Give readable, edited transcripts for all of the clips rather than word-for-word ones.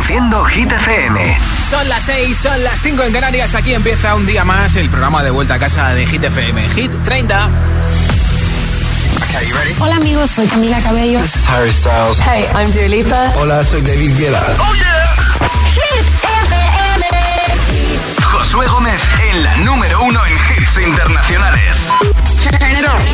Reproduciendo Hit FM. Son las 6, son las 5 en Canarias. Aquí empieza un día más el programa de vuelta a casa de Hit FM. Hit 30. Okay, you ready? Hola amigos, soy Camila Cabello. This is Harry Styles. Hey, I'm Dua Lipa. Hola, soy David Guetta. Oh yeah. Hit FM. Josué Gómez en la número 1 en hits internacionales. Turn it on.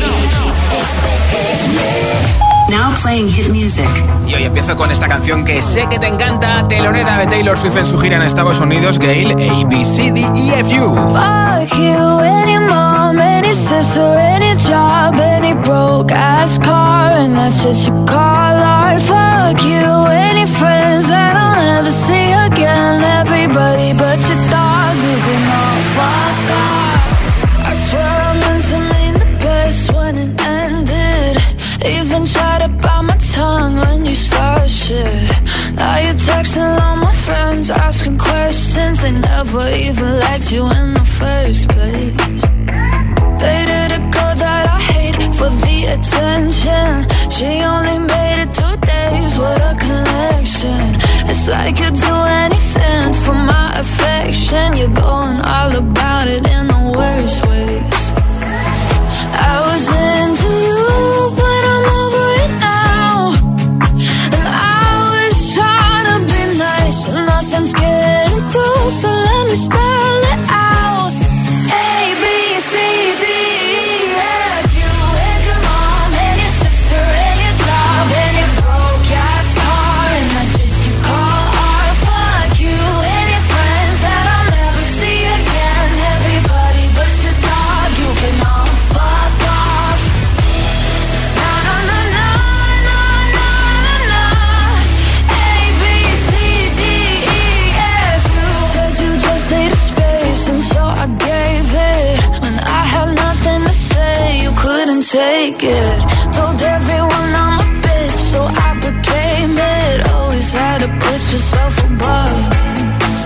Now playing hit music. Y hoy empiezo con esta canción que sé que te encanta, telonera de Taylor Swift en su gira en Estados Unidos, Gayle, ABCDEFU. Fuck you, any mom, any sister, any job, any broke ass car, and that's what you call art. Fuck you, any friends that I'll never see again, everybody but your dog, you can all fuck off. I swear I meant to mean the best when it ended. Even tried to bite my tongue when you start shit. Now you're texting all my friends, asking questions. They never even liked you in the first place. Dated a girl that I hate for the attention. She only made it 2 days with a connection. It's like you'd do anything for my affection. You're going all about it in the worst ways. I was into you, but I'm over it now. And I was trying to be nice, but nothing's getting through. So let me spell it out. A, B, C, D, E, F. You and your mom and your sister and your job and your broke ass car, and that's what you call art. Fuck you and your friends that I'll never see again. Everybody but your dog, you can all fuck off. Na na na na na na na na. A, B, C, D, E, F. You said you just needed space, and so I gave it. When I had nothing to say, you couldn't take it. Told everyone I'm a bitch, so I became it. Always had to put yourself above me.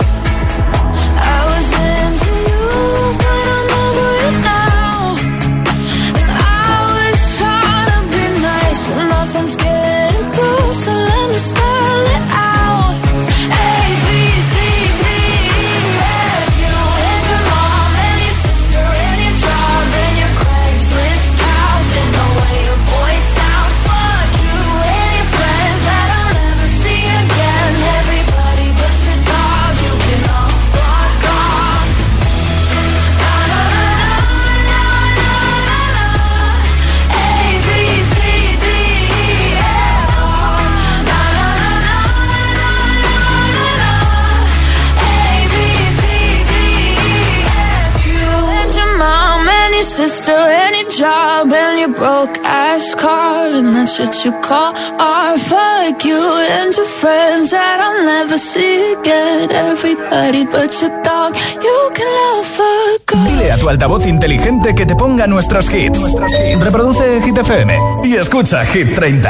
I was into you, but I'm over it now. And I was trying to be nice, but nothing's getting through. So let me spell it out. A, B, C, D, E, F. You and your mom and your sister and your job and your Craigslist couch and the way your voice sounds. Fuck you and your friends that I'll never see again. Everybody but your dog, you can all fuck off. Na na na na na na na. A, B, C, D, E, F. Na na na na na na na. A, B, C, D, E, F. You and your mom and your sister and your job and your broke ass car, and that's what you call art. Fuck you and your friends that I'll never see again. Everybody but your dog, you can love fuck off. Dile a tu altavoz inteligente que te ponga nuestros hits. Reproduce Hit FM y escucha Hit 30.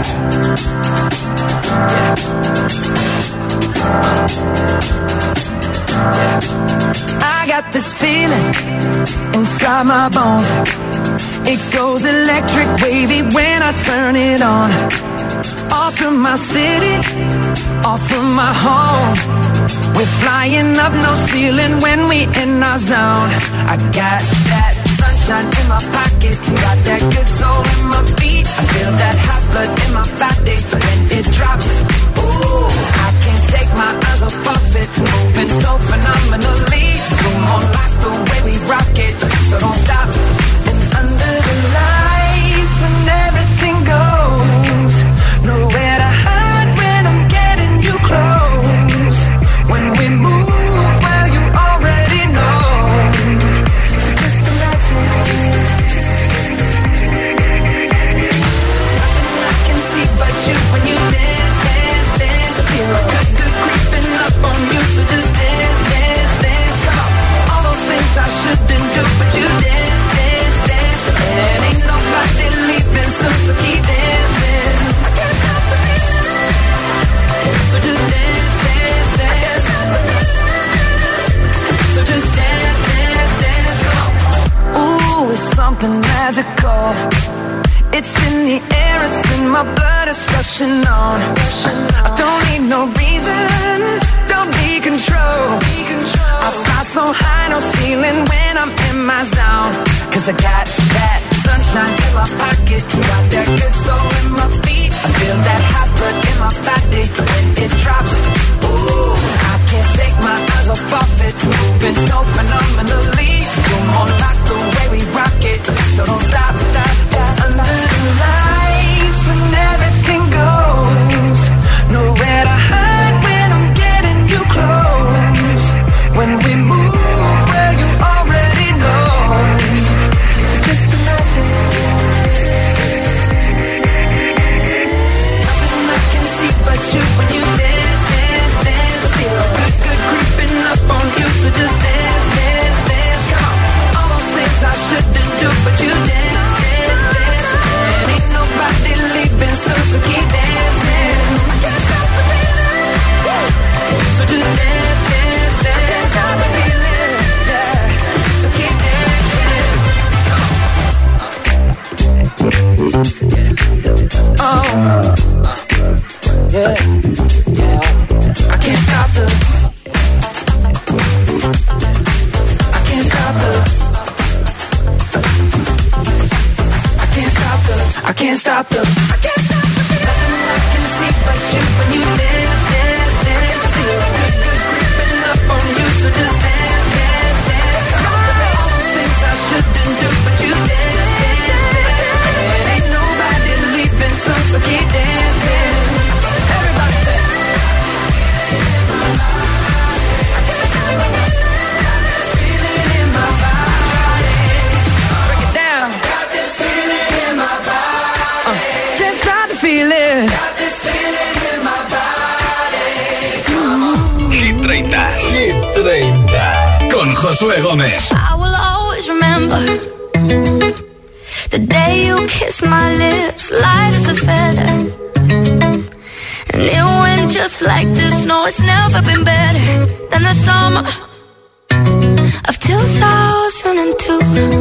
I got this feeling inside my bones. It goes electric wavy when I turn it on. Off from my city, off from my home. We're flying up no ceiling when we in our zone. I got that sunshine in my pocket, got that good soul in my feet. I feel that hot blood in my body when it drops. Ooh, I can't take my eyes off of it, moving so phenomenally. You're more like the way we rock it, so don't stop. And under the lights when everything goes, nowhere to hide when I'm getting you close. When we move, well you already know. So just imagine. Nothing I can see but you when you dance, dance, dance. Feel a good, good creeping up on you. So just dance, dance, dance. Come on. All those things I shouldn't do, but you dance, dance, dance. And ain't nobody leaving soon, so keep dancing. I can't stop the feeling. So just dance, dance, dance. I can't stop the feeling. So just dance, dance, dance. Come on. Ooh, it's something magical. It's in the air, it's in my blood, it's rushing on. I don't need no reason, 'cause I got that sunshine in my pocket, got that good soul in my feet. I feel that hot blood in my body when it drops. Ooh, I can't take my eyes off of it, moving so phenomenally. You're more like the way we rock it, so don't stop, stop, stop. Under the lights when everything goes, nowhere to hide when I'm getting you close. When we move, well, you already know. So just imagine. Nothing I can see but you when you dance, dance, dance. Feel good, good creeping up on you. So just dance, dance, dance. Come on. All those things I shouldn't do, but you dance, dance, dance. And ain't nobody leaving, so keep dancing. I can't stop the feeling. So just dance, dance, dance. I can't stop the feeling. Yeah. So keep dancing. Oh. Yeah. Yeah. I can't stop the. I can't stop the. I can't stop the. I can't stop the. I can't stop the. Nothing I can see but you when you dance, dance, dance. Feel good, good creeping up on you, so just dance, dance, dance. Come on. All those things I shouldn't do, but you dance, dance, dance. And ain't nobody leaving, so keep dancing. Everybody say. I can't stop the feeling in my body. Break it down. Got this feeling in my body. Can't stop the feeling. Got this feeling in my body. Hit 30. Hit 30. Con Josué Gómez. I will always remember the day you kissed my lips, light as a feather. And it went just like this. No, it's never been better than the summer of 2002.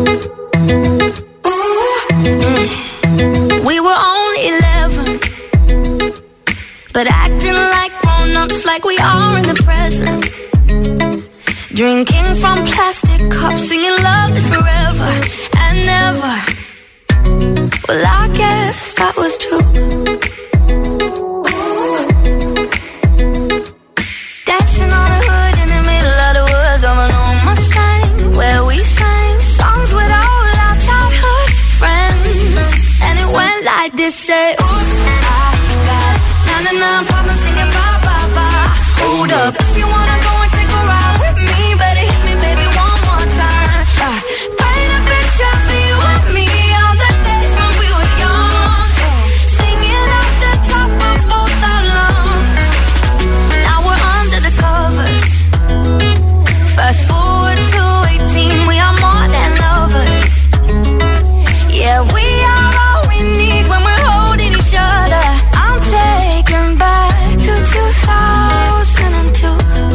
We were only 11, but acting like grown-ups, like we are in the present. Drinking from plastic cups, singing love is forever and never. Well, I guess that was true. Dancing on the hood in the middle of the woods of an old Mustang, where we sang songs with all our childhood friends. And it went like this, say, oops, I got 99 problems singing bye, bye, bye. Hold up, if you wanna go and take a ride with me, better hit me, baby, one more time. Paint a picture for you and me on the days when we were young, singing off the top of both our lungs. Now we're under the covers. Fast forward to 18, we are more than lovers. Yeah, we are all we need when we're holding each other. I'm taken back to 2002.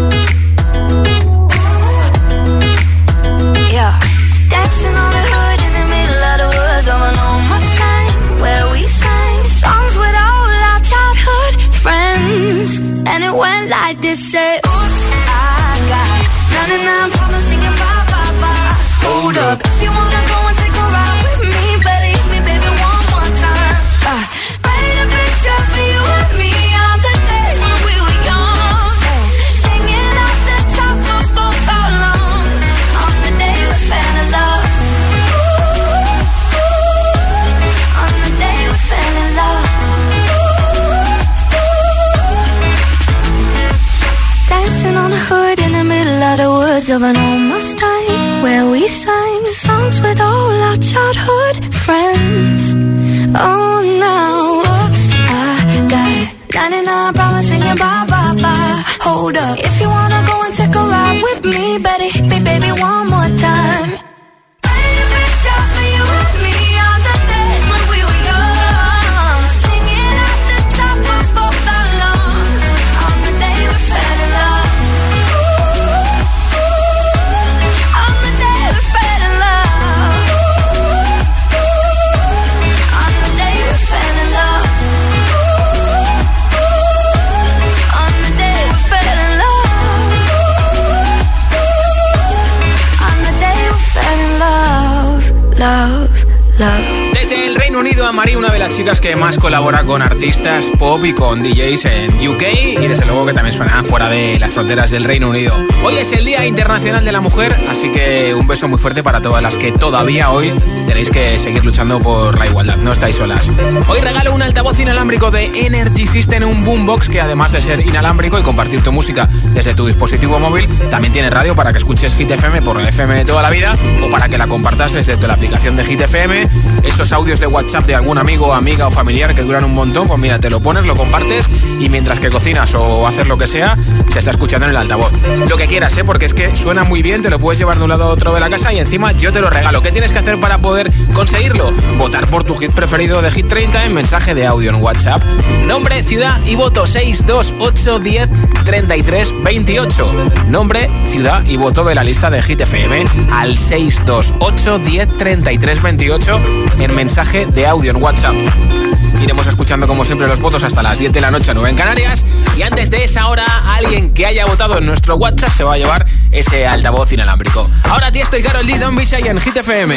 Yeah, dancing on the hood in the middle of the woods of an old Mustang, where we sang songs with all our childhood friends. And it went like this, say, oops, I got 99 problems singing bye, bye, bye. Hold up, if you wanna go and take a ride with me, better hit me, baby, one more time. Paint a picture for you and me on the days when we were young, singing off the top of both our lungs on the day we fell in love. On the day we fell in love. Dancing on the hood in the middle of the woods of an old Mustang, where we sang songs with all our childhood friends. Oh, now, oops, I got 99 problems singing bye, bye, bye. Hold up, if you wanna go and take a ride with me, better hit me, baby, one more time. Paint a picture for you and me on the days when we were young, singing at the top of both our lungs on the day we fell in love. On the day we fell in love. On the day we fell in love. On the day we fell in love. Eva Marie, una de las chicas que más colabora con artistas pop y con DJs en UK y desde luego que también suena fuera de las fronteras del Reino Unido. Hoy es el Día Internacional de la Mujer, así que un beso muy fuerte para todas las que todavía hoy tenéis que seguir luchando por la igualdad, no estáis solas. Hoy regalo un altavoz inalámbrico de Energy System, un boombox que además de ser inalámbrico y compartir tu música desde tu dispositivo móvil, también tiene radio para que escuches Hit FM por el FM de toda la vida o para que la compartas desde la aplicación de Hit FM. Esos audios de WhatsApp de algún amigo, amiga o familiar que duran un montón, pues mira, te lo pones, lo compartes y mientras que cocinas o haces lo que sea, se está escuchando en el altavoz. Lo que quieras, porque es que suena muy bien, te lo puedes llevar de un lado a otro de la casa y encima yo te lo regalo. ¿Qué tienes que hacer para poder conseguirlo? Votar por tu hit preferido de Hit 30 en mensaje de audio en WhatsApp. Nombre, ciudad y voto 628103328. Nombre, ciudad y voto de la lista de Hit FM al 628103328 en mensaje de audio en WhatsApp. Iremos escuchando como siempre los votos hasta las 10 de la noche, 9 en Canarias. Y antes de esa hora, alguien que haya votado en nuestro WhatsApp se va a llevar ese altavoz inalámbrico. Ahora Tiesto y Karol G, Don Bishai en Hit FM.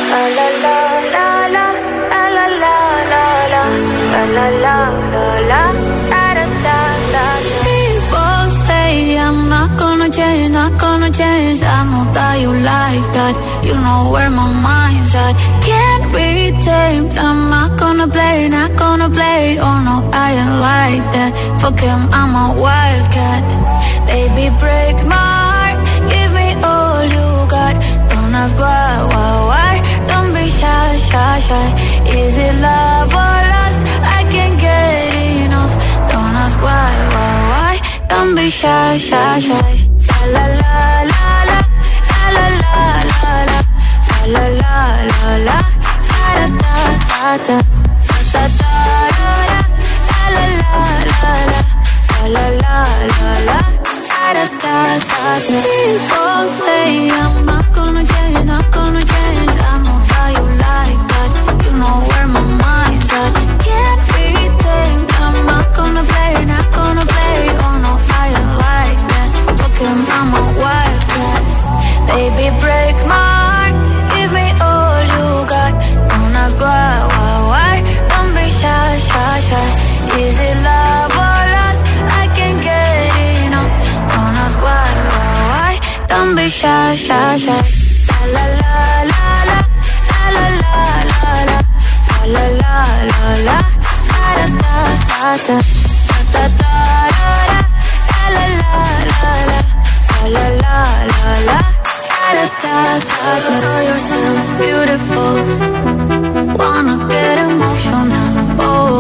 People say I'm not gonna change, not gonna change. I know that you like that. You know where my mind's at. Can't be tamed. I'm not gonna play, not gonna play. Oh no, I ain't like that. Fuck him, I'm a wildcat. Baby, break my heart. Give me all you got. Don't ask why. Don't be shy, shy, shy. Is it love or lust? I can't get enough. Don't ask why. Don't be shy, shy, shy. La la la la la la la la la la la la la da da da da da da la la la la la la da da da. People say I'm not gonna change, not gonna change. I know how you like that. You know where my mind's at. Can't be tamed. I'm not gonna play, not gonna play. Oh no, I ain't like that. Fuck him, I'm a wildcat. Baby, break my heart. Give me all you got. Don't ask why. Don't be shy, shy, shy. Is it love or lust? I can't get enough. Don't ask why. Don't be shy, shy, shy. La la la la la la la la la la la la da da da da da da la la la la la la la da da da. Know yourself beautiful. Wanna get emotional. Oh,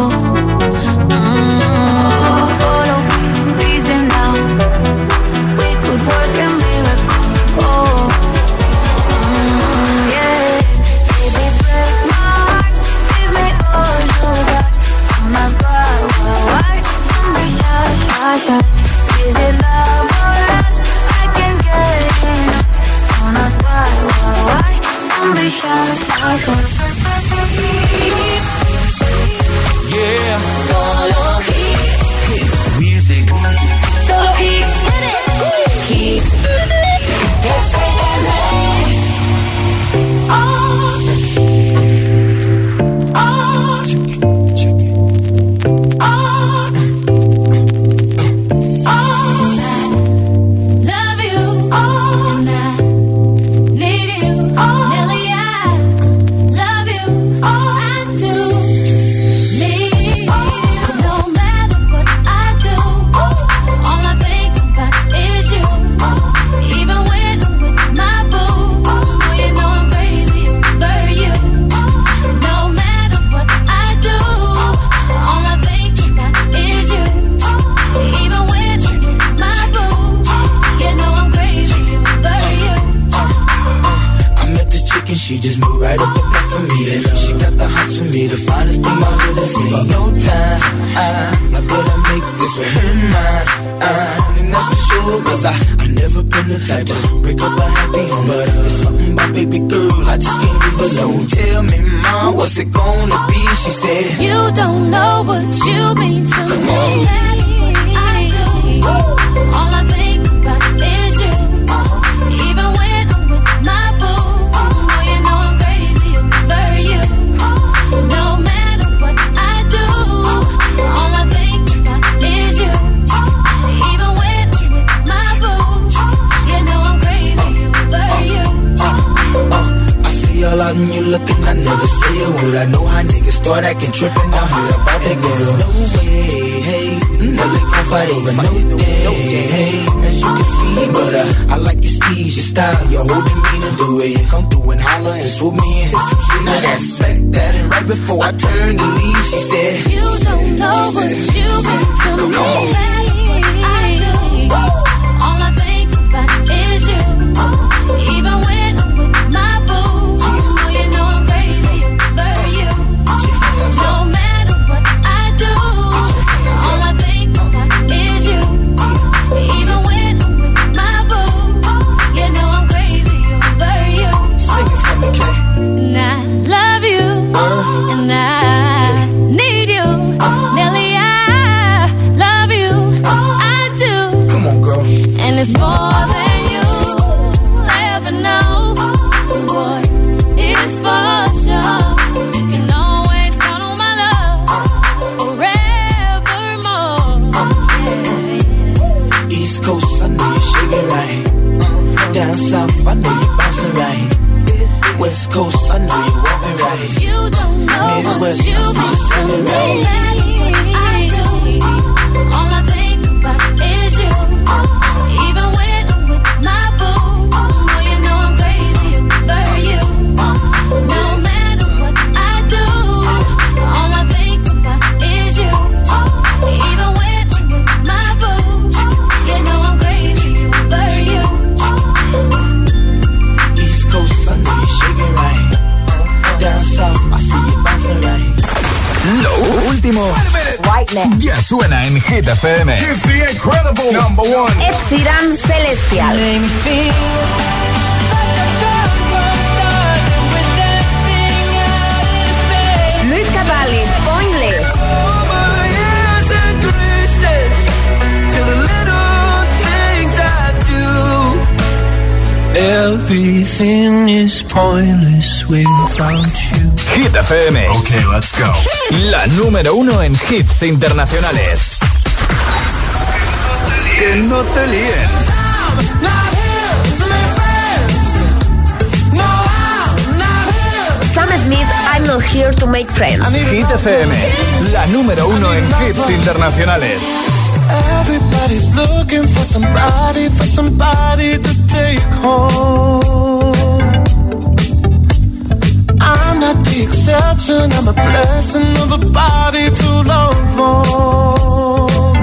follow me, easy now. We could work a miracle. Oh, yeah. Baby, break my heart. Give me all you got. Don't ask why. Don't be shy, shy, shy. Is it love or lust? I can't get enough. Don't ask why. Don't be shy, shy, shy. Yeah. Solo hit music. Solo hit. Hit FM. She just moved right up the block for me. And she got the hots for me, the finest thing my hood has seen. No time, I better make this one her mine. And that's for sure, cause I never been the type to break up a happy home. But it's something about baby girl, I just can't leave alone. Tell me, mom, what's it gonna be? She said, you don't know what you mean to Come me. on. I do. All I think about is you. Even when I'm with my boo. No matter never say a word. I know how niggas start acting trippin'. I heard about that girl. No way, hey. No, they gon' fight over no day, hey. As you can see, but I like your steez, your style, your whole demeanor, the way you come through and holler and swoop me in his two-seater. Now that's smack that, and right before I turned to leave, she said, you don't know what you mean to me. I do. All I think about is you. Even when I'm with my boo, you know I'm crazy over you. No matter what I do, all I think about is you. Even when I'm with my boo, you know I'm crazy over you. Sing it for me, Kay. And I love you, and I need you. Nelly, I love you, I do. Come on, girl. And it's more than you'll ever know. Boy, it's for sure. You can always count on my love forevermore. Yeah. East Coast, I know you shake it right. Down south, I know you bouncing right. West Coast, I know you walking right. You don't know Midwest, what you mean to me. I do. All I think about is you. Even when I'm with my boo, you know I'm crazy over you. No matter what I do, all I think about is you. Even when I'm with my boo, you know I'm crazy over you. East Coast, I know you shaking right. Down south, I see you bouncing right. Lo último ya suena en Hit FM. Here's the incredible #1. Ed Sheeran, Celestial. Luis Capaldi, Pointless. Everything is pointless without you. Hit FM. Okay, let's go. La número 1 en hits internacionales. Que no te líen. Sam Smith, I'm not here to make friends. Hit FM. La número 1 en hits internacionales. Everybody's looking for somebody to take home. I'm not the exception, I'm a blessing of a body to love on.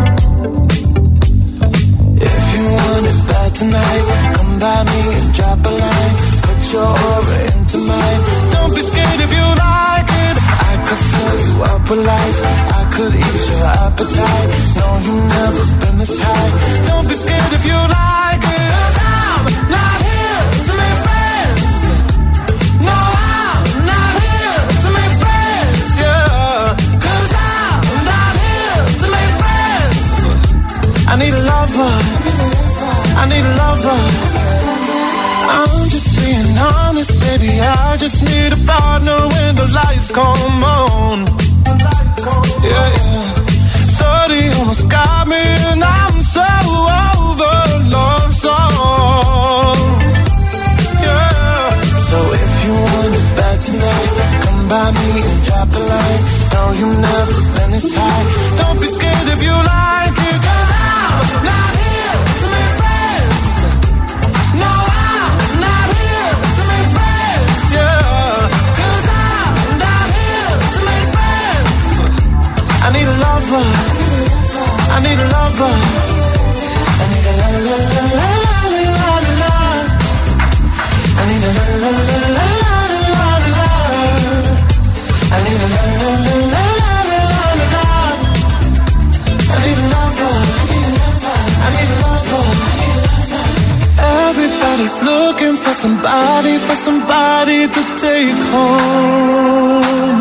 If you want it bad tonight, come by me and drop a line. Put your aura into mine. Don't be scared if you like it. I could fill you up with life. I could ease your appetite. No, you've never been this high. Don't be scared if you like it. 'Cause I'm not here to make friends. No, I'm not here to make friends. Yeah. 'Cause I'm not here to make friends. I need a lover. I need a lover. I'm just being honest, baby. I just need a partner when the lights come on. Yeah, yeah. 30 almost got me, and I'm so over love song. Yeah. So if you want it bad tonight, come by me and drop a line. No, you've never been this high. Don't be scared if you like it. 'Cause I'm not here to make friends. No, I'm not here to make friends. Yeah. 'Cause I'm not here to make friends. I need a lover. I need a lover. I need a la la la la la la la. I need a la la la la la la. I need a la la la la la la. I need a lover. I need a lover. Everybody's looking for somebody to take home.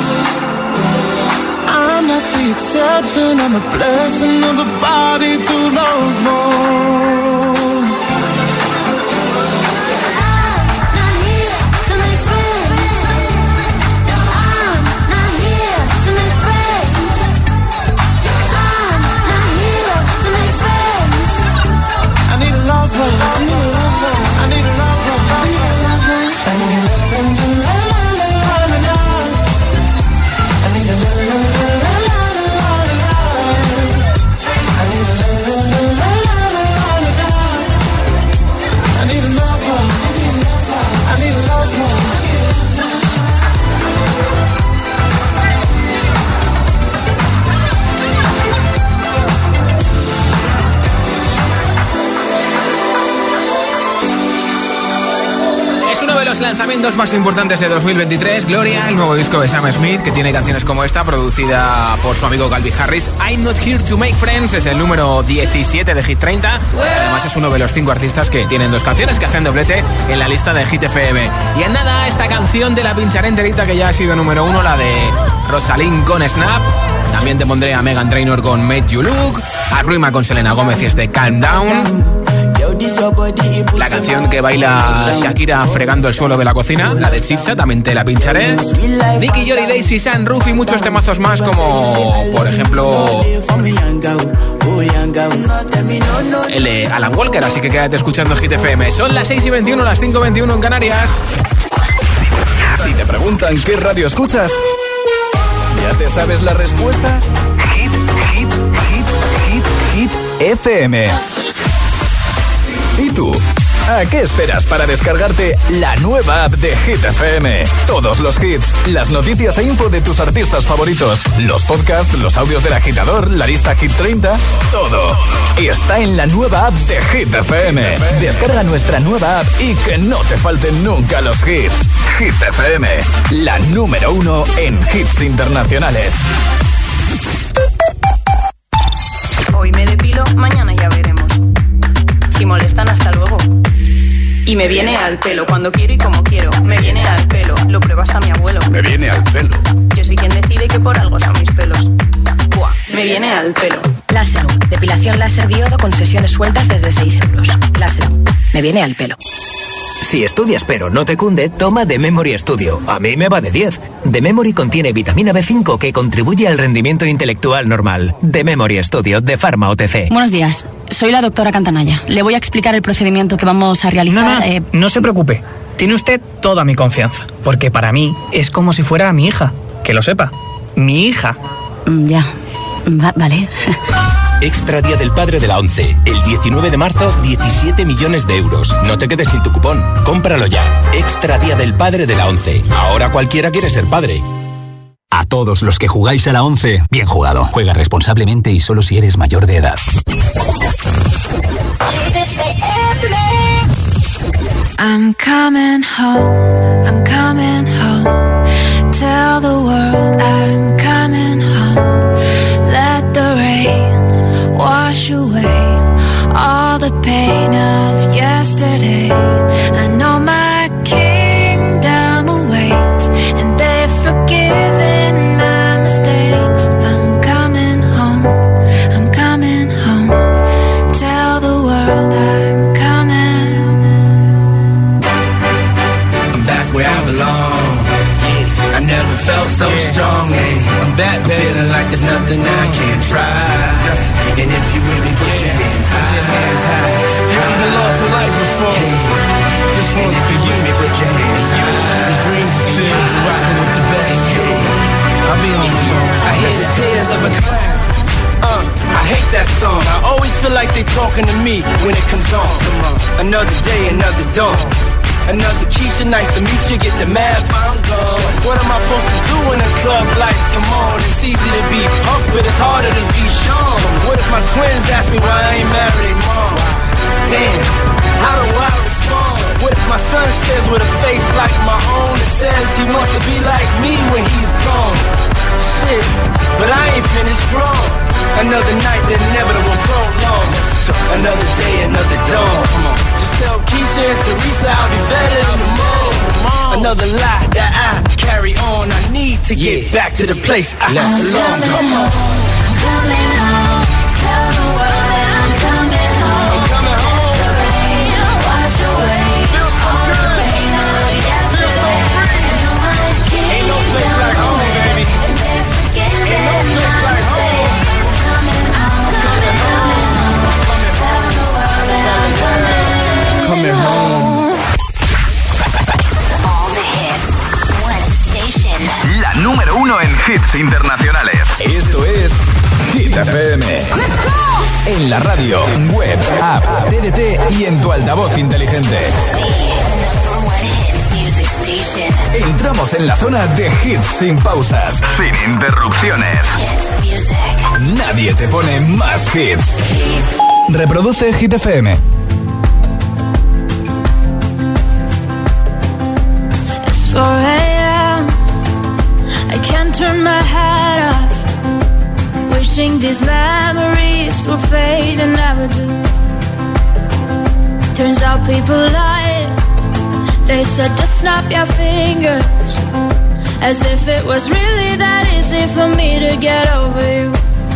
I'm not the exception, I'm a blessing of a body to love on. I'm not here to make friends. I'm not here to make friends. I'm not here to make friends. I need a lover. I need a lover. I need a lover. I need a lover. I need a lover. los lanzamientos más importantes de 2023, Gloria, el nuevo disco de Sam Smith, que tiene canciones como esta, producida por su amigo Calvin Harris. I'm Not Here to Make Friends es el número 17 de Hit 30. Además es uno de los 5 artistas que tienen 2 canciones que hacen doblete en la lista de Hit FM. Y en nada, esta canción te la pincharé enterita, que ya ha sido número 1, la de Rosalind con Snap. También te pondré a Meghan Trainor con Made You Look, a Rima con Selena Gomez y este Calm Down. La canción que baila Shakira fregando el suelo de la cocina, la de Chisa, también te la pincharé. Nicky, Jory, Daisy, Sunroof y muchos temazos más, como por ejemplo el de Alan Walker. Así que quédate escuchando Hit FM. Son las 6:21, las 5:21 en Canarias. Si te preguntan qué radio escuchas, ¿ya te sabes la respuesta? Hit FM. ¿Y tú? ¿A qué esperas para descargarte la nueva app de Hit FM? Todos los hits, las noticias e info de tus artistas favoritos, los podcasts, los audios del agitador, la lista Hit 30, todo. Y está en la nueva app de Hit FM. Descarga nuestra nueva app y que no te falten nunca los hits. Hit FM, la número 1 en hits internacionales. Hoy me depilo, mañana ya veremos. Si molestan, hasta luego. Y me viene al pelo cuando quiero y como quiero. Me viene al pelo, lo prueba hasta mi abuelo. Me viene al pelo. Yo soy quien decide que por algo son mis pelos. Buah, me viene al pelo. Láser, depilación láser diodo con sesiones sueltas desde 6 euros. Láser, me viene al pelo. Si estudias pero no te cunde, toma The Memory Studio. A mí me va de 10. The Memory contiene vitamina B5 que contribuye al rendimiento intelectual normal. The Memory Studio de Pharma OTC. Buenos días, soy la doctora Cantanaya. Le voy a explicar el procedimiento que vamos a realizar. No se preocupe. Tiene usted toda mi confianza. Porque para mí es como si fuera mi hija. Que lo sepa. Mi hija. Ya. Vale. Extra Día del Padre de la ONCE. El 19 de marzo, 17 millones de euros. No te quedes sin tu cupón. Cómpralo ya. Extra Día del Padre de la ONCE. Ahora cualquiera quiere ser padre. A todos los que jugáis a la ONCE, bien jugado. Juega responsablemente y solo si eres mayor de edad. I'm coming home, I'm coming home. Tell the world I'm coming home. Let the rain wash away all the pain of yesterday. I know my kingdom awaits, and they've forgiven my mistakes. I'm coming home, I'm coming home. Tell the world I'm coming. I'm back where I belong. Yeah, I never felt so strong. Yeah, I'm back, I'm feeling like there's nothing I can't try. And if you with me, put your hands high. Put your hands high. You even lost a life before. This one's for you. Put your hands high. The dreams are filled. You're rocking with the best. I'll be on the song. I hear the tears of a clown. I hate that song. I always feel like they talking to me when it comes on. Come on. Another day, another dawn. Another Keisha, nice to meet you. Get the math, I'm gone. What am I supposed to do when the club lights come on? It's easy to be pumped, but it's harder to be Sean. What if my twins ask me why I ain't married their mom? Damn, how do I respond? What if my son stares with a face like my own and says he wants to be like me when he's gone? Shit, but I ain't finished grown. Another night, the inevitable prolong. Another day, another dawn. Come on. Just tell Keisha and Teresa I'll be better in the morning. Another lie that I carry on. I need to get back to the place I belong. Come on. I'm coming home. Tell the world that I'm coming home. I'm coming home. The rain wash away. Feels so all good. the pain of yesterday. Feel so free. I know my Ain't no place like home, baby. And they're forgiving Ain't no place my like home. mistakes. I'm coming home. Tell the world that I'm coming home. All the hits. One station. La número 1 en hits internacionales. Esto es Hit FM. En la radio, web, app, TDT y en tu altavoz inteligente. Entramos en la zona de hits sin pausas, sin interrupciones. Nadie te pone más hits. Reproduce Hit FM. 4 a.m. I can't turn my head off, wishing these memories will fade and never do. Turns out people lie. They said just snap your fingers, as if it was really that easy for me to get over you.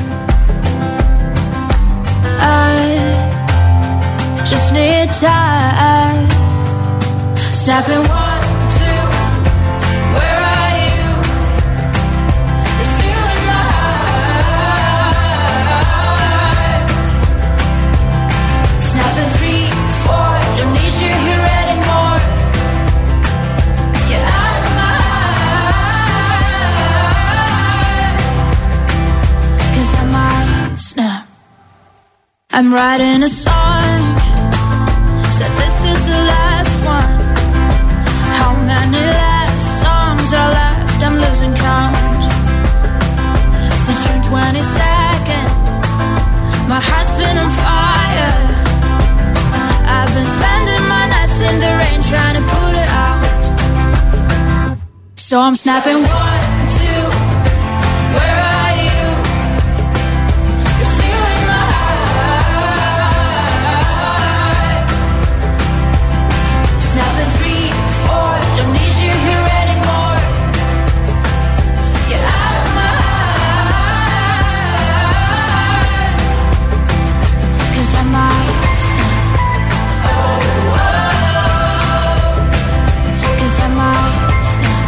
I just need time. Snapping 1, 2, where are you? You're still in my heart. Snapping 3, 4, don't need you here anymore. Get out of my heart. 'Cause I might snap. I'm writing a song, said this is the last one. How many last songs are left? I'm losing count. Since June 22nd, my heart's been on fire. I've been spending my nights in the rain trying to put it out. So I'm snapping 1, 2, where are you? You're still in my heart. Snapping 3, 4, don't need you here anymore. Get out of my heart. 'Cause I might snap. 'Cause I might snap.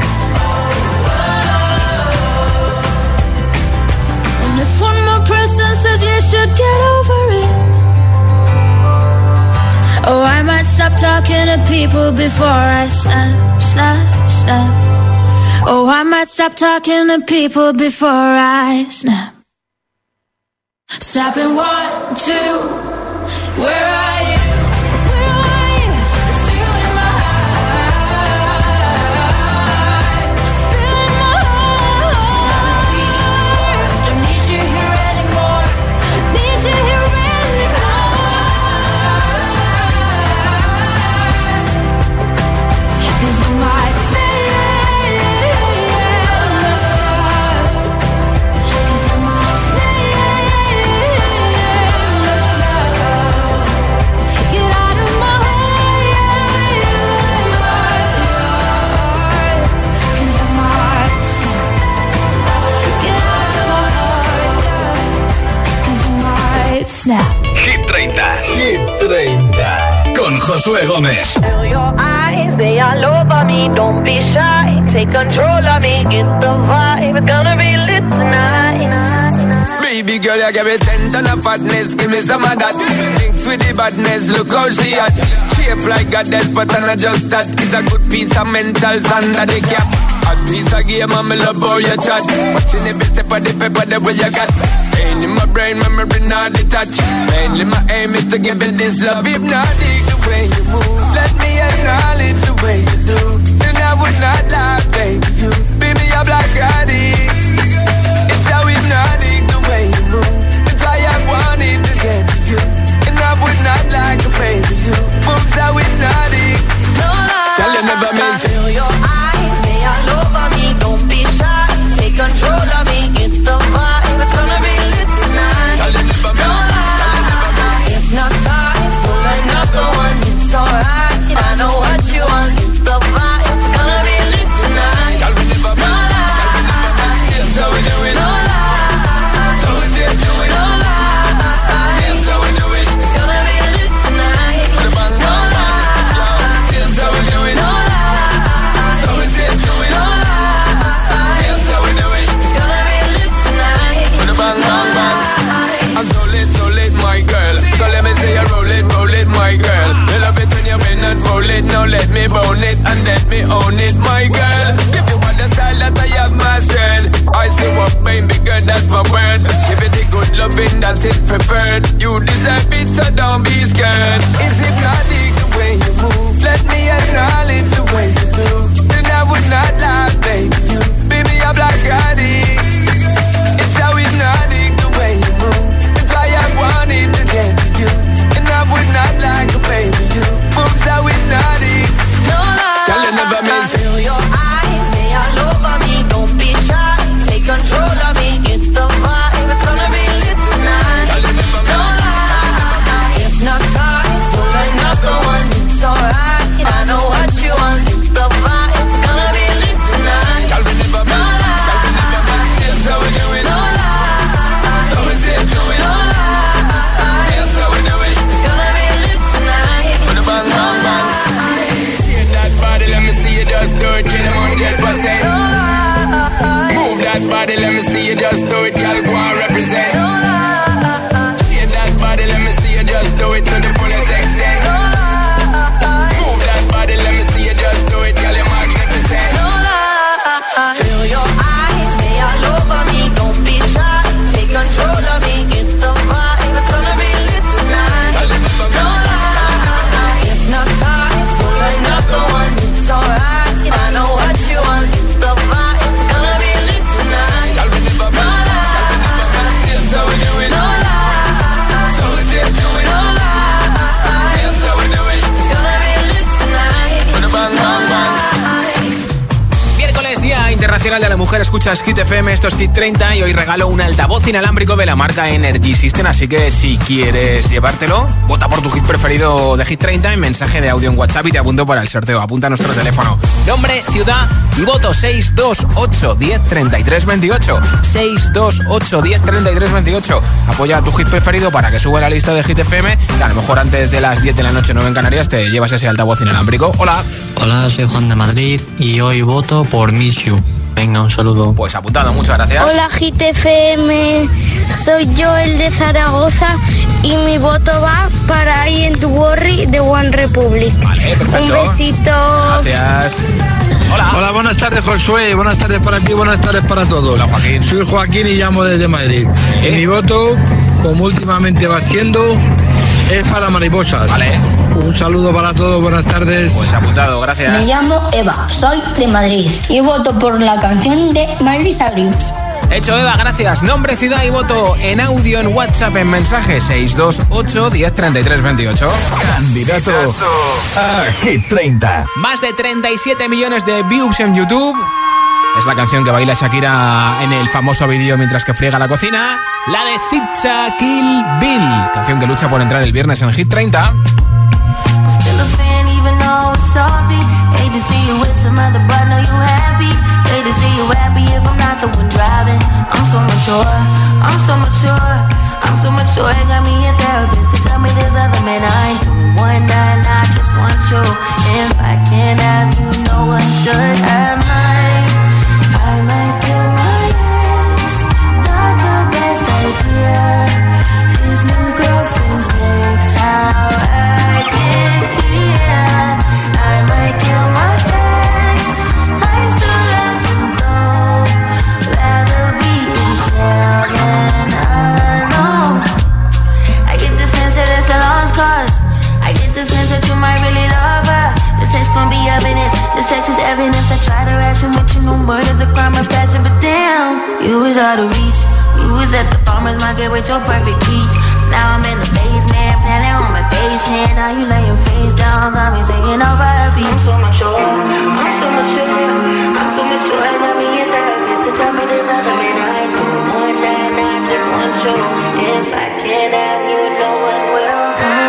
And if one more person says you should get over it, oh, I might stop talking to people before I snap, snap, snap. Oh, I might stop talking to people before I snap. Snapping 1, 2, where are you? Where are you? You're still in my heart. Still in my heart. Don't need you here anymore. Need you here anymore. 'Cause I might stay. 'Cause I might stay. Get out of my heart. 'Cause I might get out of my heart. 'Cause I might snap. Hit 30. Hit 30. Con Josué Gómez. Tell your eyes, they all over me. Don't be shy, take control of me. Get the vibe, it's gonna be lit tonight. Baby girl, you give me 10 ton of fatness. Give me some of that. Thinks with the badness, look how she at. Shape like goddess, but I'm not just that. It's a good piece of mentals under the cap. A piece of game, I'm love how you chat. Watching every step of the paper, the way you got. Staying in my brain, memory not detached. Mainly my aim is to give it this love. Hypnotic the way you move. Let me acknowledge the way you do. And I would not lie, baby. You beat me up like addict. It's how hypnotic the way you move. It's why I wanted to get to you. And I would not lie, baby. You moves how hypnotic. No lie, tell you never meant. Feel your eyes, they all over me. Don't be shy, take control of me. Get the vibe, it's gonna be lit tonight. Tell you never meant. No lie, hypnotized, pull another one. It's alright, I know what you want. Get the vibe, it's gonna be lit tonight. Tell me never meant. No lie, so we do it. no lie, So we do it. no lie, So we do it. it's gonna be lit tonight. No lie, So we do it. no lie, So we do it. no lie, So we do it. it's gonna be lit tonight. Bang, bang, bang. I'm so lit, my girl. So let me say you roll it, my girl. You love it when you bend and roll it. Now let me bone it and let me own it, my girl. If you want the style that I have mastered, I say what baby girl, that's my word. Give it the good loving that is preferred. You deserve it, so don't be scared. Is hypnotic the way you move. Let me acknowledge the way you do. Then I would not lie, baby. You beat me up like addict. It's how hypnotic the way you move. It's why I wanted to get to you. And I would not like a baby. You moves how hypnotic. No lie, Tell you never meant. feel Internacional de la Mujer, escuchas Hit FM, esto es Hit 30 y hoy regalo un altavoz inalámbrico de la marca Energy System, así que si quieres llevártelo, vota por tu hit preferido de Hit 30 en mensaje de audio en WhatsApp y te apunto para el sorteo. Apunta a nuestro teléfono, nombre, ciudad y voto 628 10 33 28. 628 10 33 28. Apoya a tu hit preferido para que suba la lista de Hit FM y a lo mejor antes de las 10 de la noche, 9 en Canarias, te llevas ese altavoz inalámbrico. Hola. Hola, soy Juan de Madrid y hoy voto por Miss You. Venga, un saludo. Pues apuntado, muchas gracias. Hola Hit FM, soy Joel de Zaragoza y mi voto va para I Ain't Worry de One Republic. Vale, perfecto. Un besito. Gracias. Hola. Hola, buenas tardes Josué, buenas tardes para ti, buenas tardes para todos. Hola Joaquín. Soy Joaquín y llamo desde Madrid. ¿Sí? Y mi voto, como últimamente va siendo, es para Mariposas. Vale. Un saludo para todos, buenas tardes. Pues apuntado, gracias. Me llamo Eva, soy de Madrid y voto por la canción de Miley Cyrus. Hecho, Eva, gracias. Nombre, ciudad y voto en audio en WhatsApp en mensaje 628 10 33 28. Candidato a Hit 30. Más de 37 millones de views en YouTube. Es la canción que baila Shakira en el famoso vídeo mientras que friega la cocina. La de Sitcha Kill Bill. Canción que lucha por entrar el viernes en Hit 30. Hate to see you with some other, but know you happy. Hate to see you happy if I'm not the one driving. I'm so mature, I'm so mature, I'm so mature. It got me a therapist to tell me there's other men I ain't doing one night. I just want you. If I can't have you, no one should. I might kill my ex. Not the best idea. His new girlfriend's next. How I get here. I might kill my ex. I still love him though. Rather be in jail than alone. I get the sense that it's a lost cause. I get the sense that you might really love her. The sex gon' be evidence. The sex is evidence. I try to ration with you. No murder's a crime of passion. But damn, you was out of reach. You was at the farmer's market with your perfect peach. Now I'm in the basement, planning on my patient. Now you lay your face down, got me singing over a beat. I'm so mature, I'm so mature, I'm so mature. I got me a therapist to tell me there's other men I ain't doing more than I just want you. If I can't have you, no one will.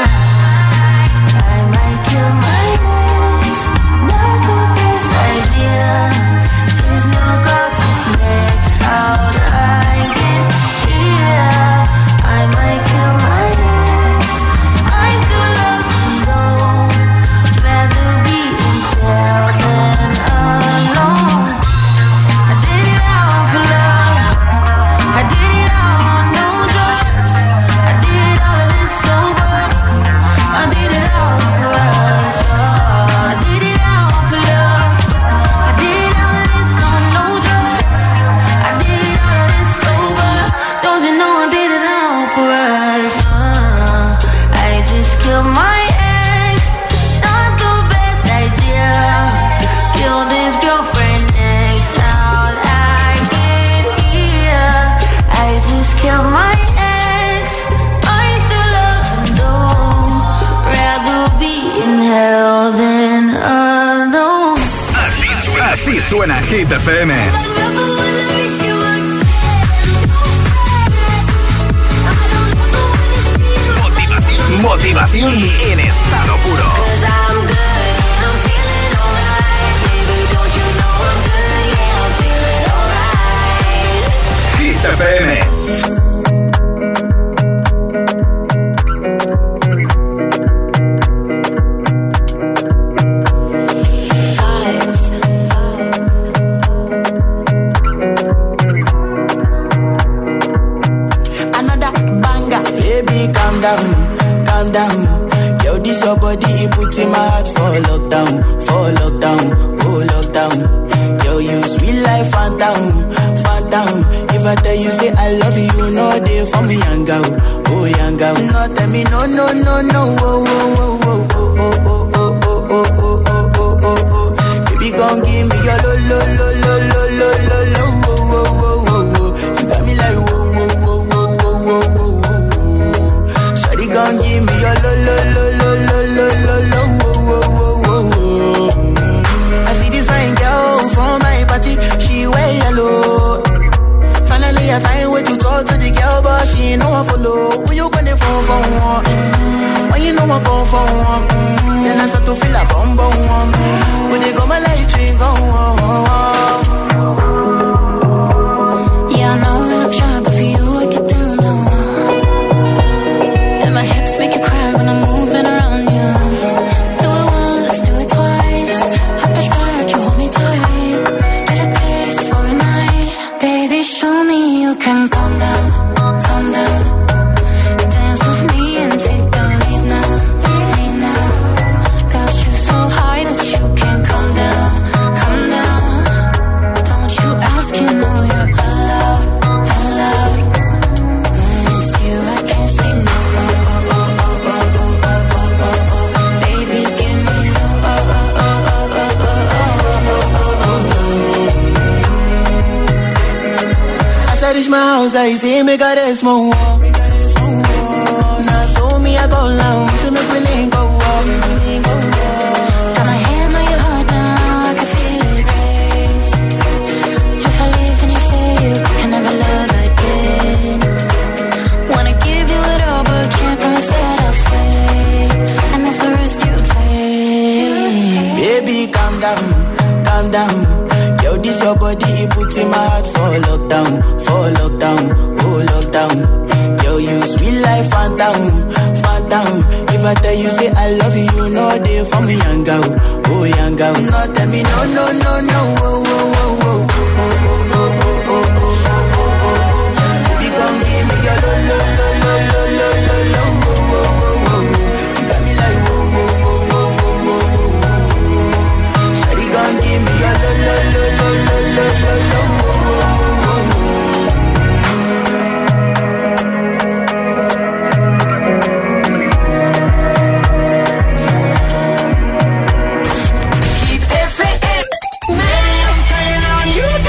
I might kill my ex, not the best idea. His new girlfriend's next, how'd I get here? I might kill my ex. I still love him though. Rather be in jail than alone. I did it all for love. I did it all on no drugs. I did all of this sober. I did it all for us. I did it all for love. I did all of this on no drugs. I did all of this sober. Don't you know I did it all for us? I just killed my ex. Not the best idea. Killed his girlfriend next. How'd I get here? I just killed my ex. I still love him though. Rather be in hell than alone. Así suena Hit FM. Motivación en estado puro. Hit FM. Another banger, baby, calm down, calm down. Yo, this your body, it puts in my heart for lockdown, oh lockdown. Yo, you sweet life, phantom, phantom. If I tell you say I love you, you know they for me, young girl, oh young girl. No, tell me no, no, no, no, oh, oh, oh, oh, oh, oh, oh, oh, oh, oh, oh, oh, oh, oh. Baby, gon' give me your lo, lo, lo, lo, lo, lo, lo, lo, oh, oh, oh, oh, oh. You got me like whoa, whoa, whoa, whoa, whoa, whoa, whoa, whoa. Shawty gon' give me your lo, lo, lo, lo, lo, lo, lo, lo, oh, oh, oh, oh, oh. I see this fine girl from my party body, she wear yellow. Finally I find way to talk to the girl, but she ain't no one follow. Who you gonna phone for one? When you know I phone for one, then I start to feel a bum bum one. When they go my light ring go on. Yeah, I know I look shy, but for you I get down low. And my hips make you cry when I'm moving around you. Do it once, do it twice. I push back, you hold me tight. Get a taste for a night. Baby, show me you can calm down, calm down. Dance with me and take the lead now, lead now. Got you so high that you can't calm down, calm down. Don't you ask, you know you're allowed, allowed. When it's you, I can't say no. Baby, give me love. As I reach my house, I see me got a small wall. Now so me I go down, so me we link go walk. Got my hand on your heart now, I can feel it race. If I leave, then you say you can never love again. Wanna give you it all, but can't promise that I'll stay. And that's the risk you take. Baby, calm down, calm down. Yo, this your body, it puts in my heart for lockdown, oh lockdown. Yo, you sweet life, phantom, phantom. If I tell you say I love you, you know they for me young girl, oh young girl. No, tell me no, no, no, no, oh, oh, oh, oh, oh, oh, oh, oh, oh, oh, oh, oh. Baby, come give me your lo, lo, lo, lo, lo, lo, lo, lo, oh, oh, oh, oh. You got me like oh, oh, oh, oh, oh, oh, oh. Shawty, come give me your lo, lo, lo, lo, lo, lo, lo, lo, oh, oh, oh, oh. Keep FM. Man, I'm playing on you.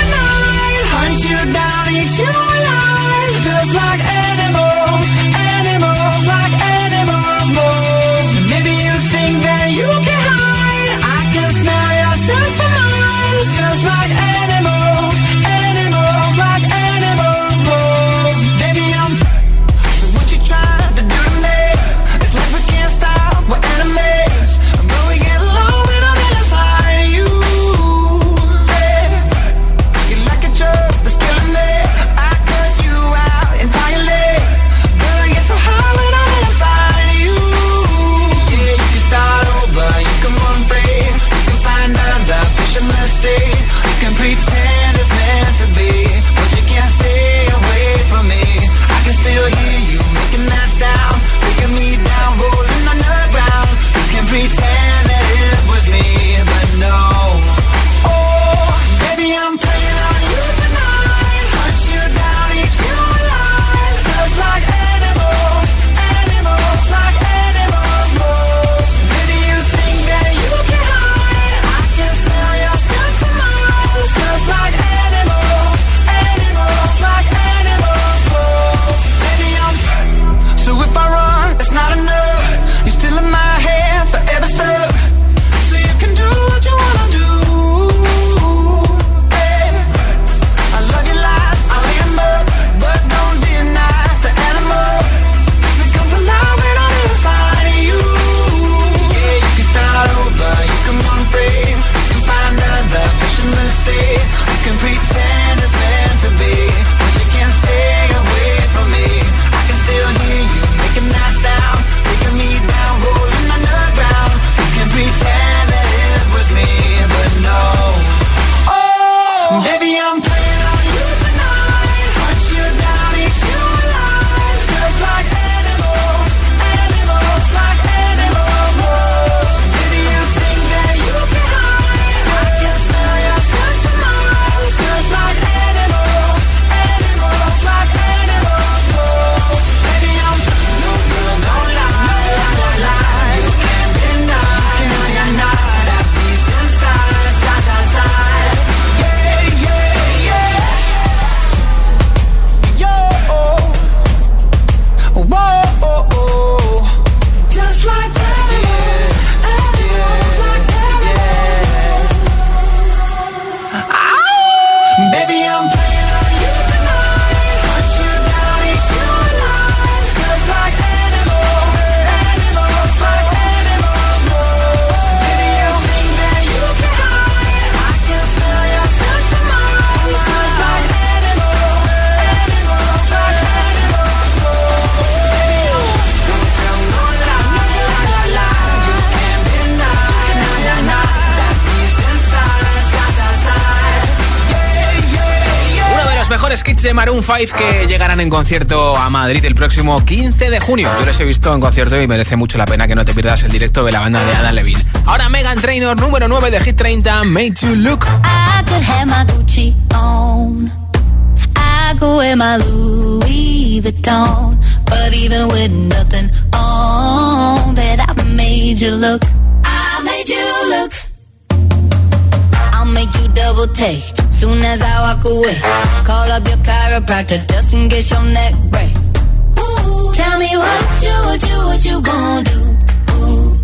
Greatest Hits de Maroon 5 que llegarán en concierto a Madrid el próximo 15 de junio. Yo les he visto en concierto y merece mucho la pena que no te pierdas el directo de la banda de Adam Levine. Ahora Meghan Trainor, número 9 de Hit 30, Made You Look. I could have my Gucci on, I could wear my Louis Vuitton, but even with nothing on, bet I made you look. I made you look. I'll make you double take soon as I walk away. Call up your chiropractor just in case your neck break. Ooh, tell me what you gonna do? Ooh.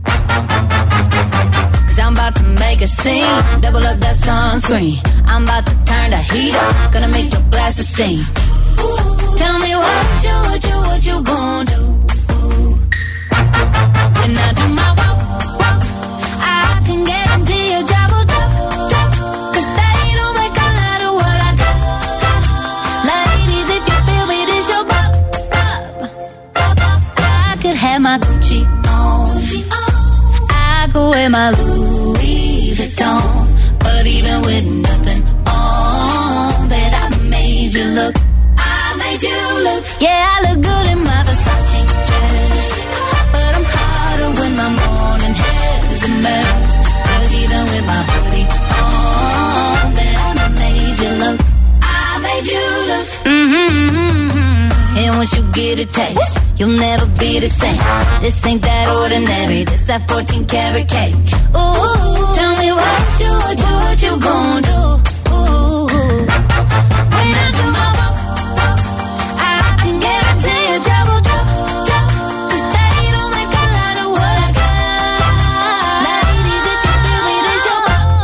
'Cause I'm about to make a scene, double up that sunscreen. I'm about to turn the heat up, gonna make your glasses steam. Ooh, tell me what you gonna do? Ooh. When I do my walk, I can guarantee your job will drop. Have my Gucci on, I go wear my Louis Vuitton, but even with nothing on, bet I made you look. I made you look. Yeah, I look good in my Versace dress, but I'm hotter when my morning hair is a mess. 'Cause even with my hoodie on, bet I made you look. I made you look. And once you get a taste, you'll never be the same. This ain't that ordinary, this that 14 karat cake. Ooh, tell me what you gonna do? Ooh, when I do my walk, I can guarantee your job will drop. 'Cause they don't make a lot of what I got. Ladies, if you feel me, this your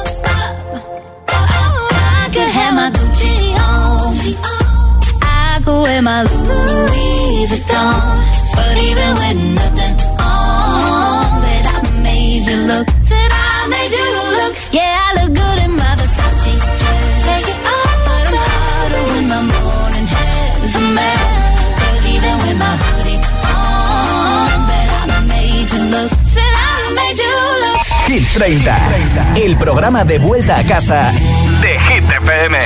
I could have my Gucci on, I could wear my Louis Vuitton, but even with nothing on, bet I made you look. Said I made you look. Yeah, I look good in my Versace dress, but I'm hotter when my morning hair is a mess. 'Cause even with my hoodie on, bet I made you look. Said I made you look. Hit 30, el programa de vuelta a casa de Hit FM.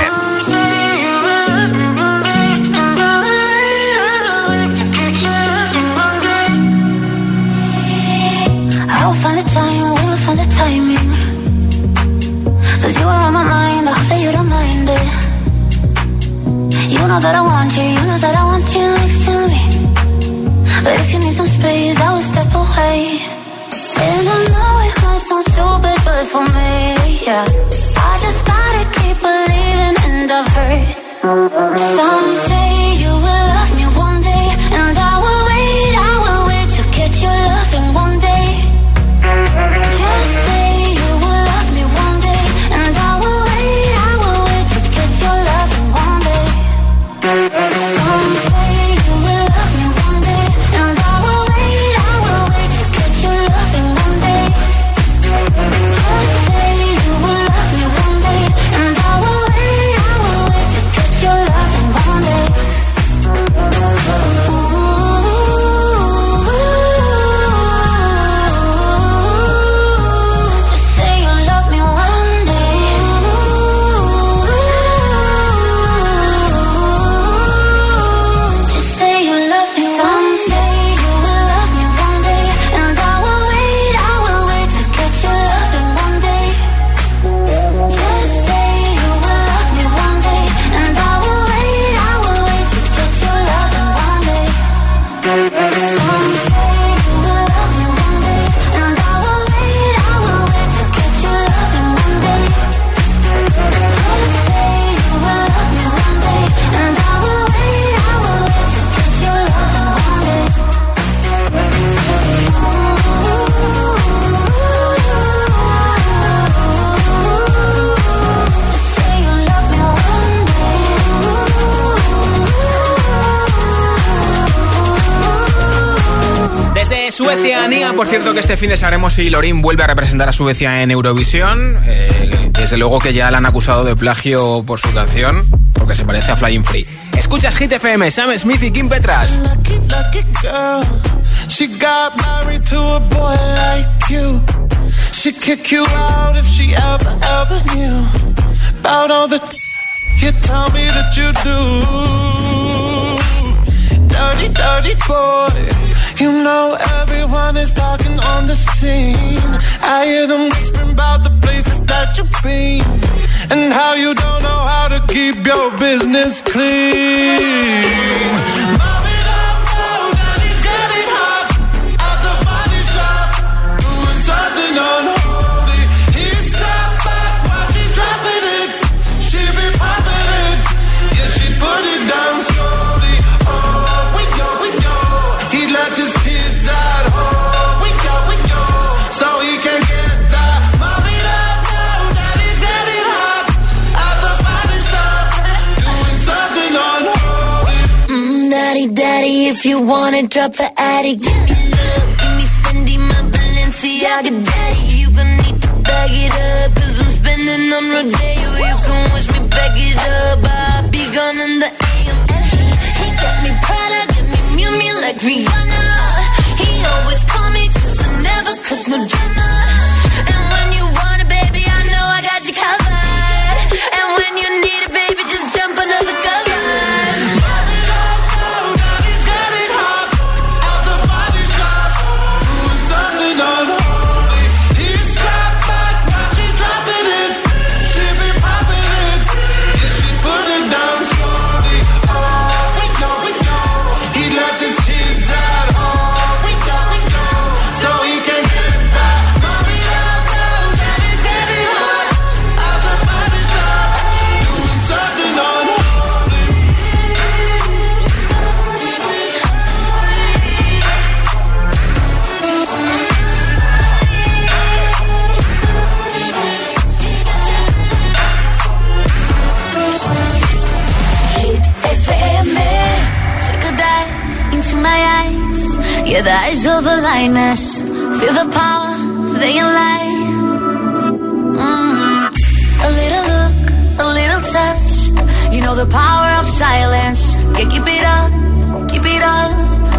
We'll find the timing. 'Cause you are on my mind, I hope that you don't mind it. You know that I want you, you know that I want you next to me. But if you need some space, I will step away. And I know it might sound stupid, but for me, yeah, I just gotta keep believing, and I've heard some say you will love me one day, and I will wait to get your loving one day. Just say you will love me one day, and I will wait to get your loving one day. Some say you will love me one day, and I will wait to get your loving one day. Just say you will love me one day, and I will wait to get your loving one day. Suecia, Nia. Por cierto, que este fin de sabremos si Loreen vuelve a representar a Suecia en Eurovisión. Desde luego que ya la han acusado de plagio por su canción, porque se parece a Flying Free. Escuchas Hit FM, Sam Smith y Kim Petras. She got married to a boy like you. She'd kick you out if she ever knew about all the you tell me that you do. Dirty, dirty boy. You know everyone is talking on the scene. I hear them whispering about the places that you've been and how you don't know how to keep your business clean. Mommy, don't go, daddy's getting hot at the body shop, doing something unholy. He sat back while she's dropping it. She be popping it, yeah, she put it down slowly. Oh, we go, he left his kids at home. We go, so he can get that. Mommy, don't go, daddy's getting hot at the body shop, doing something unholy. Daddy, daddy, if you wanna drop the attic, give me love, give me Fendi, my Balenciaga, daddy. You gon' need to bag it up, 'cause I'm spending on Rodeo. You can wish me back it up, I'll be gone in the AM. And he got me Prada, got me Miu Miu like Rihanna. He always call me 'cause I never cause no drama. And when you want it, baby, I know I got you covered. And when you need it, baby, just jump under the covers. Yeah, the eyes of the lioness, feel the power, they can lie. A little look, a little touch, you know the power of silence. Yeah, keep it up, keep it up.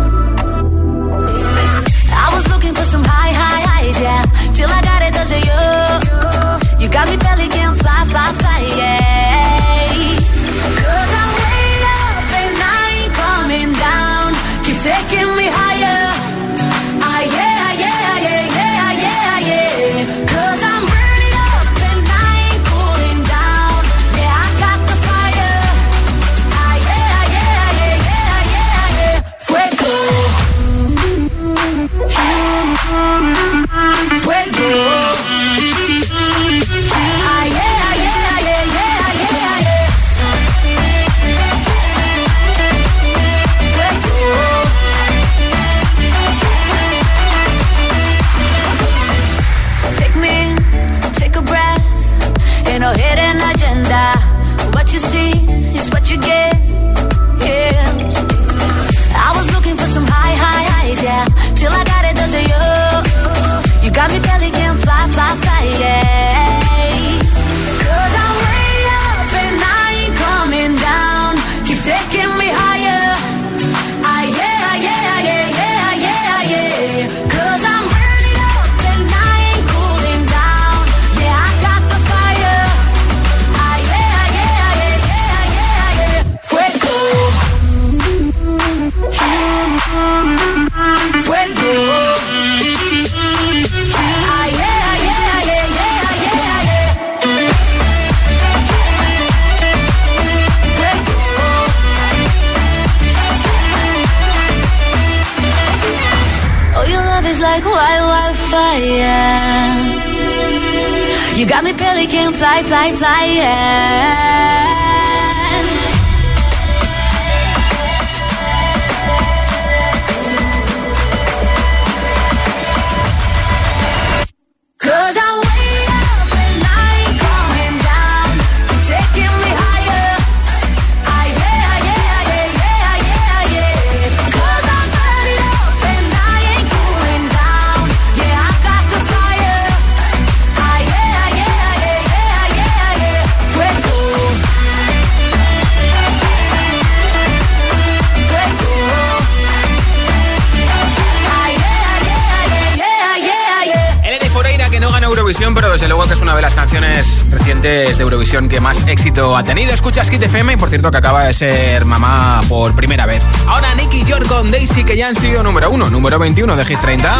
I was looking for some high highs, yeah, till I got it, does it you? You got me belly can fly, yeah. 'Cause I'm way up and I ain't coming down. Keep taking me higher. No hidden agenda. What you see is what you get. Yeah. I was looking for some high highs, yeah. Till I got it, does it you? You got me belly can fly, yeah. 'Cause I'm way up and I ain't coming down. Keep taking me higher. Yeah. 'Cause I'm burning up and I ain't cooling down. Yeah, I got the fire. Fuego. Oh, your love is like wildfire. You got me pelican fly, yeah. Eurovisión, pero desde luego que es una de las canciones recientes de Eurovisión que más éxito ha tenido. Escuchas Hit FM y por cierto que acaba de ser mamá por primera vez. Ahora Nicky York con Daisy, que ya han sido número 1, número 21 de Hit 30.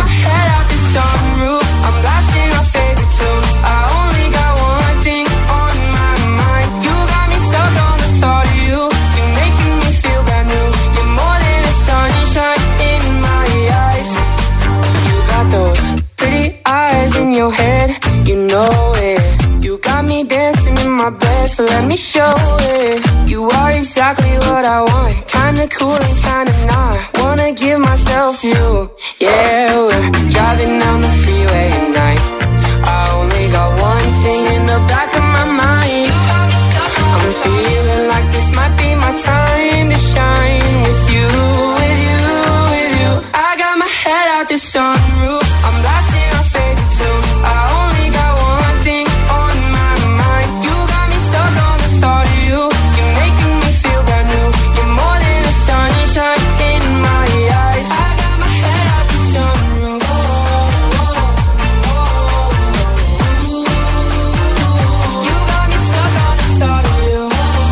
In your head, you know it. You got me dancing in my bed, so let me show it. You are exactly what I want, kinda cool and kinda not. Wanna give myself to you. Yeah, we're driving down the freeway at night. I only got one thing in the back of my mind. I'm feeling like this might be my time to shine with you, with you, with you. I got my head out the sunroof, I'm blasting our favorite tunes. I only got one thing on my mind. You got me stuck on the thought of you. You're making me feel brand new. You're more than a sunshine in my eyes. I got my head out the sunroof. You got me stuck on the thought of you.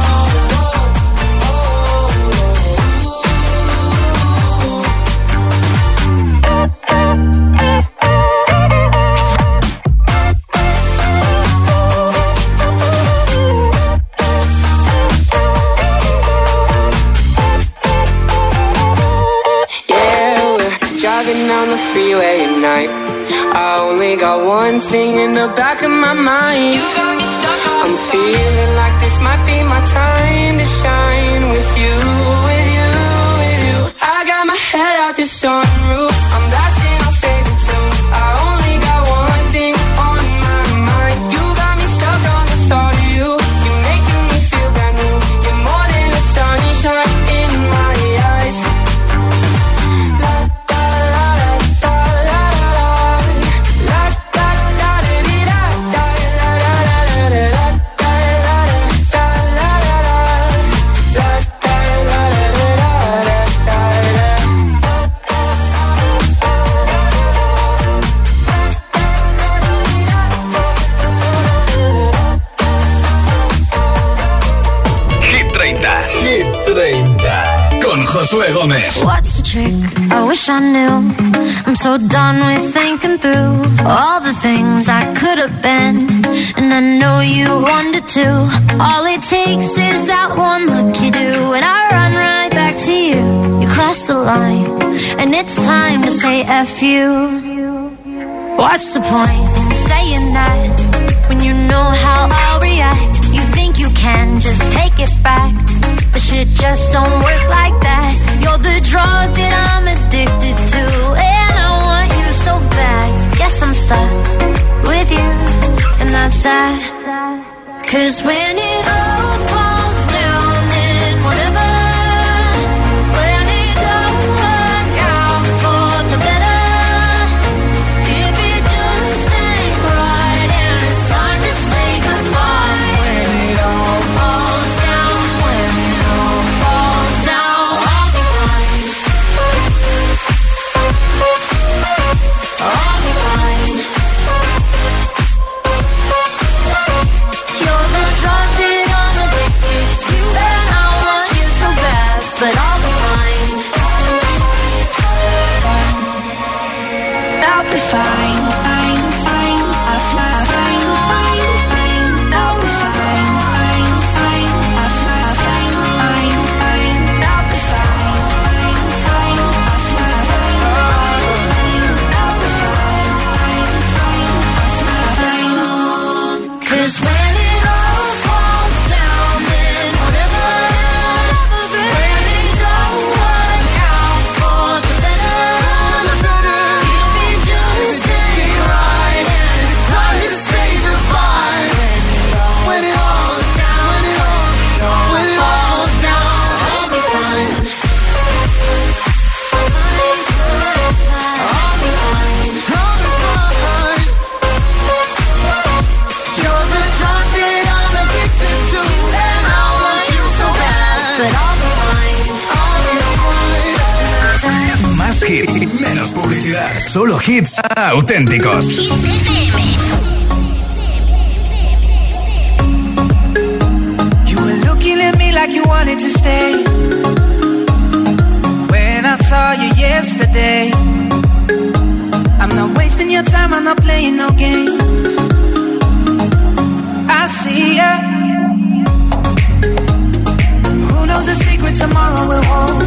Down the freeway at night. I only got one thing in the back of my mind. I'm feeling like this might be my time to shine with you, with you, with you. I got my head out the sunroof, I'm blasting our favorite tunes. I only got one thing on my mind. You got me stuck on the thought of you. You're making me feel brand new. You're more than a sunshine in my eyes. Josué Gómez. What's the trick? I wish I knew. I'm so done with thinking through all the things I could have been, and I know you wanted to. All it takes is that one look you do, and I run right back to you. You cross the line, and it's time to say F you. What's the point in saying that when you know how I'll react? You think you can just take it back, but shit just don't work like that. You're the drug that I'm addicted to, and I want you so bad. Guess I'm stuck with you, and that's that. 'Cause when it all falls down, then whatever. When it don't work out for the better, if it just ain't right and it's time to say goodbye. When it all falls down, when it all falls down, I'll be fine. I'll be fine. You're the drug that I'm addicted to, and I want you so bad, but I'll be fine. I'll be fine, fine, fine. I'll fly, fine, fine, fine. I'll be fine, fine, fine. I'll fly, fine, fine, fine. I'll be fine, fine, fine. I'll fly, fine, fine, fine. I'll be fine, fine, fine. I'll fly, fine. 'Cause when it all falls down, then whatever. When it don't work out for the better, if it just ain't right and it's time to say goodbye. When it falls down, when it falls down, I'll be fine. I'll be fine. You're the drug that I'm addicted to, and I want you so bad, but I'll be fine. I'll be fine. Más hits, menos publicidad. Solo hits auténticos. Hit FM. like you wanted to stay. When I saw you yesterday, I'm not wasting your time, I'm not playing no games. I see ya. Who knows the secret tomorrow will hold?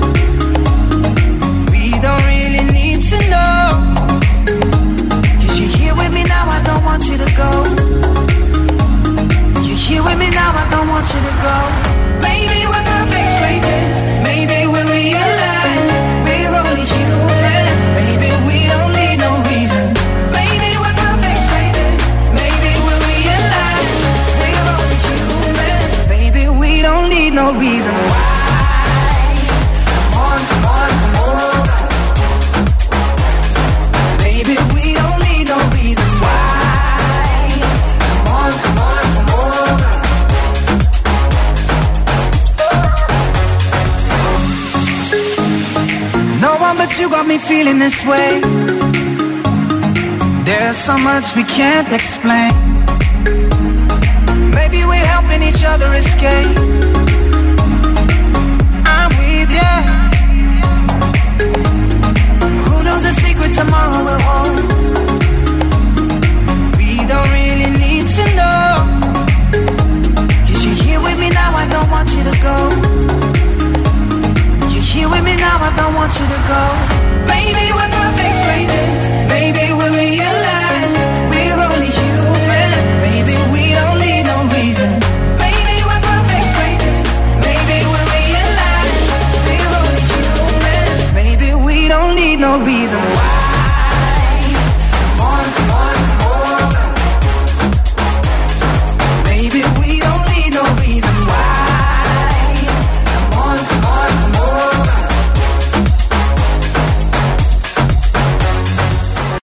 We don't really need to know. 'Cause you're here with me now, I don't want you to go. You're here with me now, I don't want you to go. Maybe we're perfect strangers, maybe we realize we're only human. Maybe we don't need no reason. Maybe we're perfect strangers, maybe we realize we're only human. Maybe we don't need no reason why. Come on, come on, come on. Maybe we don't need no reason why. Come on, come on, come on. No one but you got me feeling this way. There's so much we can't explain. Maybe we're helping each other escape. I'm with ya. Who knows the secret tomorrow will hold? We don't really need to know. 'Cause you're here with me now, I don't want you to go. You're here with me now, I don't want you to go. Maybe we're perfect strangers, maybe we realize we're only human. Maybe we don't need no reason. Maybe we're perfect strangers, maybe we realize we're only human. Maybe we don't need no reason.